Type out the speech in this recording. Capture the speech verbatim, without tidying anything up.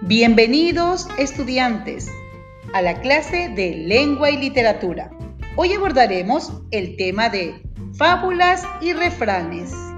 Bienvenidos, estudiantes, a la clase de Lengua y Literatura. Hoy abordaremos el tema de fábulas y refranes.